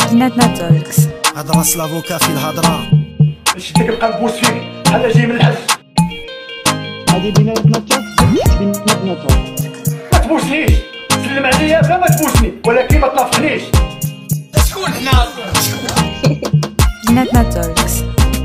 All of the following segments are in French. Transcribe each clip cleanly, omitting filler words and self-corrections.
بيناتنا توكس. هذا راس لافوكا في الهضره باش يديك القلب بوس فيك بحال جاي من الحج. هذه بيناتنا توكس، بيناتنا توكس. ما تبوسنيش، سلم عليا بلا ما تبوسني، ولكن ما تنافقنيش. شكون حنا؟ بيناتنا توكس.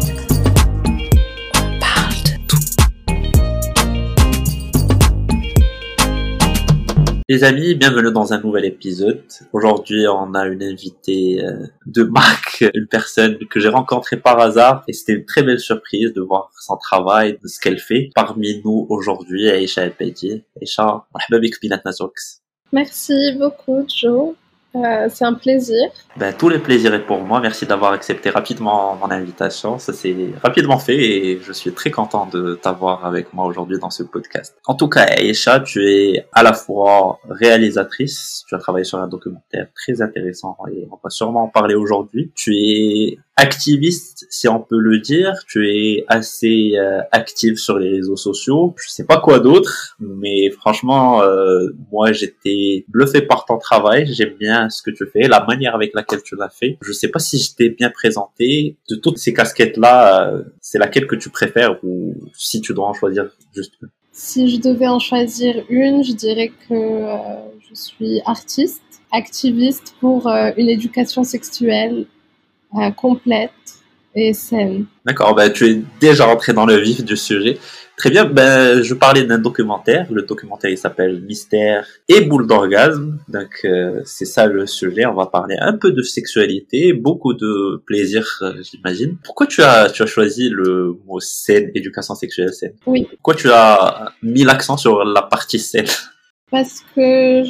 Les amis, bienvenue dans un nouvel épisode. Aujourd'hui, on a une invitée de marque, une personne que j'ai rencontrée par hasard et c'était une très belle surprise de voir son travail, de ce qu'elle fait. Parmi nous aujourd'hui, Aïcha El Beidi. Aïcha, مرحبا بك بيناتنا توكس. Merci beaucoup, Joe. C'est un plaisir. Tout le plaisir est pour moi. Merci d'avoir accepté rapidement mon invitation. Ça s'est rapidement fait et je suis très content de t'avoir avec moi aujourd'hui dans ce podcast. En tout cas, Aïcha, tu es à la fois réalisatrice. Tu as travaillé sur un documentaire très intéressant et on va sûrement en parler aujourd'hui. Tu es activiste, si on peut le dire. Tu es assez active sur les réseaux sociaux. Je sais pas quoi d'autre, mais franchement, moi, j'étais bluffé par ton travail. J'aime bien ce que tu fais, la manière avec laquelle tu l'as fait. Je sais pas si je t'ai bien présenté. De toutes ces casquettes-là, c'est laquelle que tu préfères ou si tu dois en choisir juste une? Si je devais en choisir une, je dirais que je suis artiste, activiste pour une éducation sexuelle complète et saine. D'accord, tu es déjà rentré dans le vif du sujet. Très bien, je parlais d'un documentaire. Le documentaire, il s'appelle Mystère et boule d'orgasme. Donc, c'est ça le sujet. On va parler un peu de sexualité, beaucoup de plaisir, j'imagine. Pourquoi tu as choisi le mot saine, éducation sexuelle saine? Oui. Pourquoi tu as mis l'accent sur la partie saine? Parce que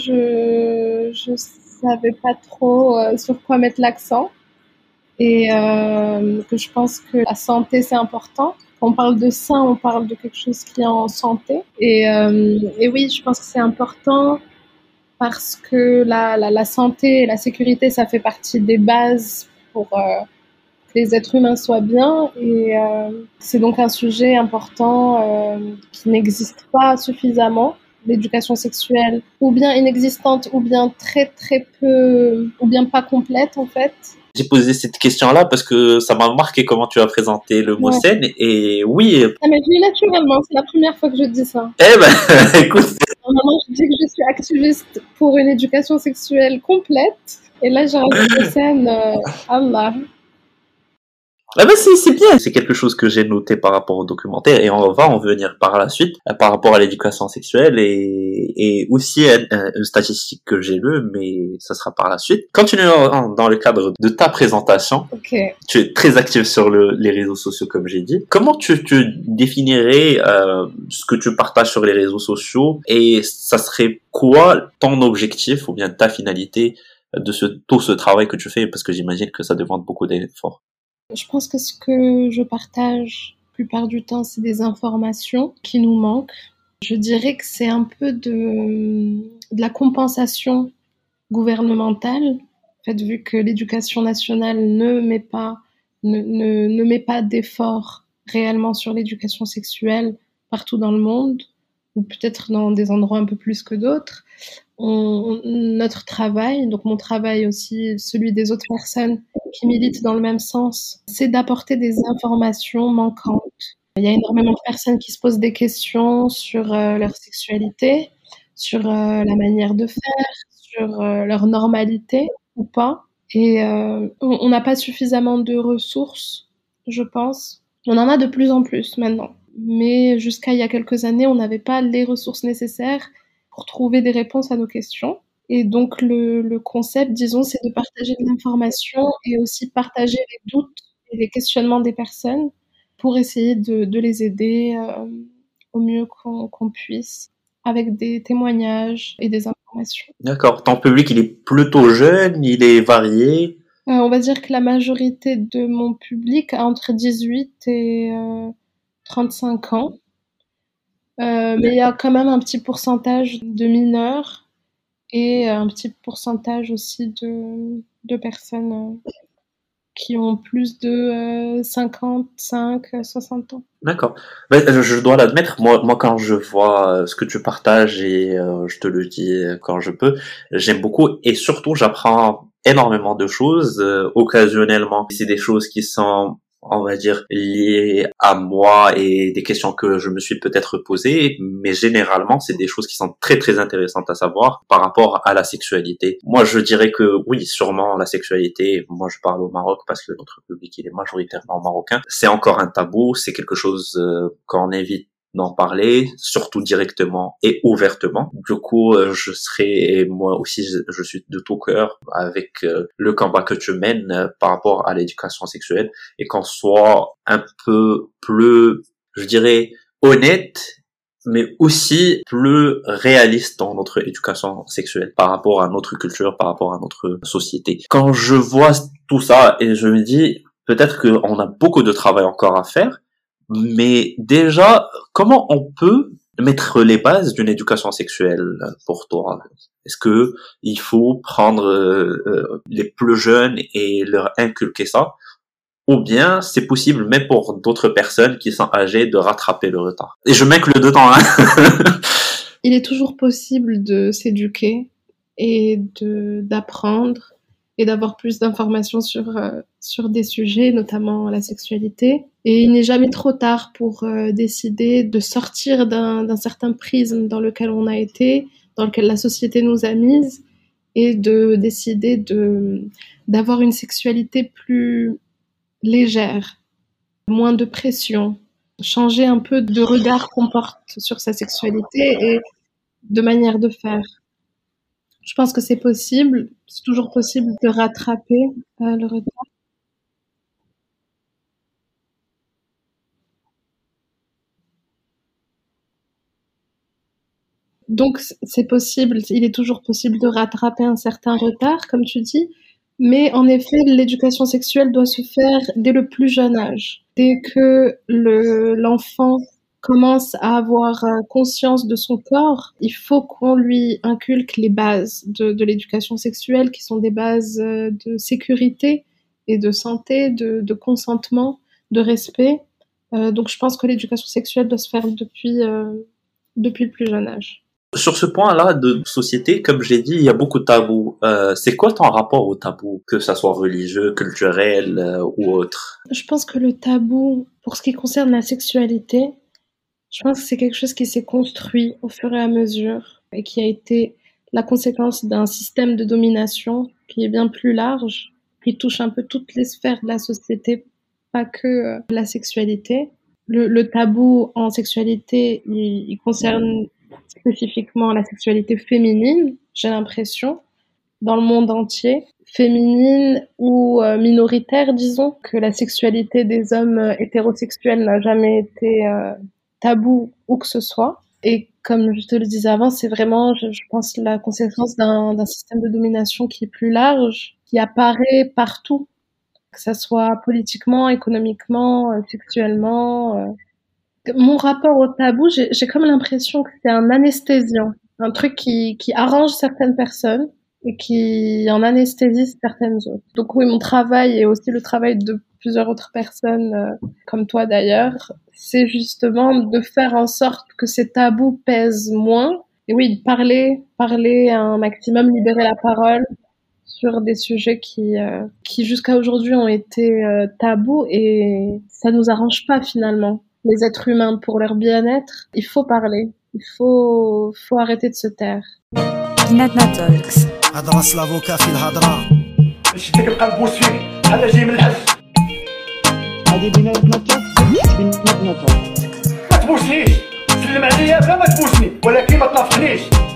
je savais pas trop sur quoi mettre l'accent et que je pense que la santé, c'est important. Quand on parle de sain, on parle de quelque chose qui est en santé. Et oui, je pense que c'est important parce que la santé et la sécurité, ça fait partie des bases pour que les êtres humains soient bien. Et c'est donc un sujet important qui n'existe pas suffisamment. L'éducation sexuelle, ou bien inexistante, ou bien très très peu, ou bien pas complète en fait. J'ai posé cette question-là parce que ça m'a marqué comment tu as présenté le mot saine et oui. Ça m'est venu naturellement, c'est la première fois que je dis ça. Écoute. Normalement, je dis que je suis activiste pour une éducation sexuelle complète et là j'ai rajouté saine, Allah. C'est bien, c'est quelque chose que j'ai noté par rapport au documentaire et on va en venir par la suite par rapport à l'éducation sexuelle et aussi une statistique que j'ai lue, mais ça sera par la suite. Continuons dans le cadre de ta présentation. Okay. Tu es très active sur les réseaux sociaux comme j'ai dit. Comment tu définirais ce que tu partages sur les réseaux sociaux et ça serait quoi ton objectif ou bien ta finalité de tout ce travail que tu fais parce que j'imagine que ça demande beaucoup d'efforts. Je pense que ce que je partage la plupart du temps, c'est des informations qui nous manquent. Je dirais que c'est un peu de la compensation gouvernementale. En fait, vu que l'éducation nationale ne met pas d'efforts réellement sur l'éducation sexuelle partout dans le monde, ou peut-être dans des endroits un peu plus que d'autres, notre travail, donc mon travail aussi, celui des autres personnes qui militent dans le même sens, c'est d'apporter des informations manquantes. Il y a énormément de personnes qui se posent des questions sur leur sexualité, sur la manière de faire, sur leur normalité ou pas. Et on n'a pas suffisamment de ressources, je pense. On en a de plus en plus maintenant. Mais jusqu'à il y a quelques années, on n'avait pas les ressources nécessaires pour trouver des réponses à nos questions. Et donc, le concept, disons, c'est de partager de l'information et aussi partager les doutes et les questionnements des personnes pour essayer de les aider au mieux qu'on puisse avec des témoignages et des informations. D'accord. Ton public, il est plutôt jeune, il est varié. On va dire que la majorité de mon public a entre 18 et 35 ans. Mais il y a quand même un petit pourcentage de mineurs et un petit pourcentage aussi de personnes qui ont plus de 55, 60 ans. D'accord. Je dois l'admettre, moi quand je vois ce que tu partages et je te le dis quand je peux, j'aime beaucoup et surtout j'apprends énormément de choses. Occasionnellement, c'est des choses qui sont, on va dire, liées à moi et des questions que je me suis peut-être posées, mais généralement, c'est des choses qui sont très très intéressantes à savoir par rapport à la sexualité. Moi, je dirais que oui, sûrement la sexualité, moi je parle au Maroc parce que notre public il est majoritairement marocain, c'est encore un tabou, c'est quelque chose qu'on évite d'en parler, surtout directement et ouvertement. Du coup, moi aussi, je suis de tout cœur avec le combat que tu mènes par rapport à l'éducation sexuelle et qu'on soit un peu plus, je dirais, honnête, mais aussi plus réaliste dans notre éducation sexuelle par rapport à notre culture, par rapport à notre société. Quand je vois tout ça et je me dis, peut-être qu'on a beaucoup de travail encore à faire, mais déjà, comment on peut mettre les bases d'une éducation sexuelle pour toi? Est-ce que il faut prendre les plus jeunes et leur inculquer ça? Ou bien c'est possible même pour d'autres personnes qui sont âgées de rattraper le retard? Et je m'inclus dedans, hein. Il est toujours possible de s'éduquer et d'apprendre et d'avoir plus d'informations sur des sujets, notamment la sexualité. Et il n'est jamais trop tard pour décider de sortir d'un certain prisme dans lequel on a été, dans lequel la société nous a mises, et de décider d'avoir une sexualité plus légère, moins de pression, changer un peu de regard qu'on porte sur sa sexualité et de manière de faire. Je pense que c'est possible, c'est toujours possible de rattraper le retard. Donc c'est possible, il est toujours possible de rattraper un certain retard, comme tu dis, mais en effet, l'éducation sexuelle doit se faire dès le plus jeune âge. Dès que l'enfant commence à avoir conscience de son corps, il faut qu'on lui inculque les bases de l'éducation sexuelle, qui sont des bases de sécurité et de santé, de consentement, de respect. Donc je pense que l'éducation sexuelle doit se faire depuis le plus jeune âge. Sur ce point-là de société, comme j'ai dit, il y a beaucoup de tabous. C'est quoi ton rapport au tabou, que ça soit religieux, culturel ou autre? Je pense que le tabou, pour ce qui concerne la sexualité, je pense que c'est quelque chose qui s'est construit au fur et à mesure et qui a été la conséquence d'un système de domination qui est bien plus large, qui touche un peu toutes les sphères de la société, pas que la sexualité. Le tabou en sexualité, il concerne spécifiquement la sexualité féminine, j'ai l'impression, dans le monde entier. Féminine ou minoritaire, disons, que la sexualité des hommes hétérosexuels n'a jamais été tabou où que ce soit. Et comme je te le disais avant, c'est vraiment, je pense, la conséquence d'un système de domination qui est plus large, qui apparaît partout, que ça soit politiquement, économiquement, sexuellement. Mon rapport au tabou, j'ai comme l'impression que c'est un anesthésiant, un truc qui arrange certaines personnes et qui en anesthésie certaines autres. Donc oui, mon travail et aussi le travail de plusieurs autres personnes, comme toi d'ailleurs, c'est justement de faire en sorte que ces tabous pèsent moins. Et oui, de parler un maximum, libérer la parole sur des sujets qui jusqu'à aujourd'hui ont été tabous, et ça nous arrange pas finalement. Les êtres humains, pour leur bien-être, il faut parler, il faut arrêter de se taire. بيناتنا توكس هضرة سلافوكا في الهضرة شدك بقى نبوس فيك بحال جاي من الحس. هذه بيناتنا توكس، بيناتنا توكس. ما تبوسنيش، سلم عليا بلا ما تبوسني، ولكن ما تنافقنيش.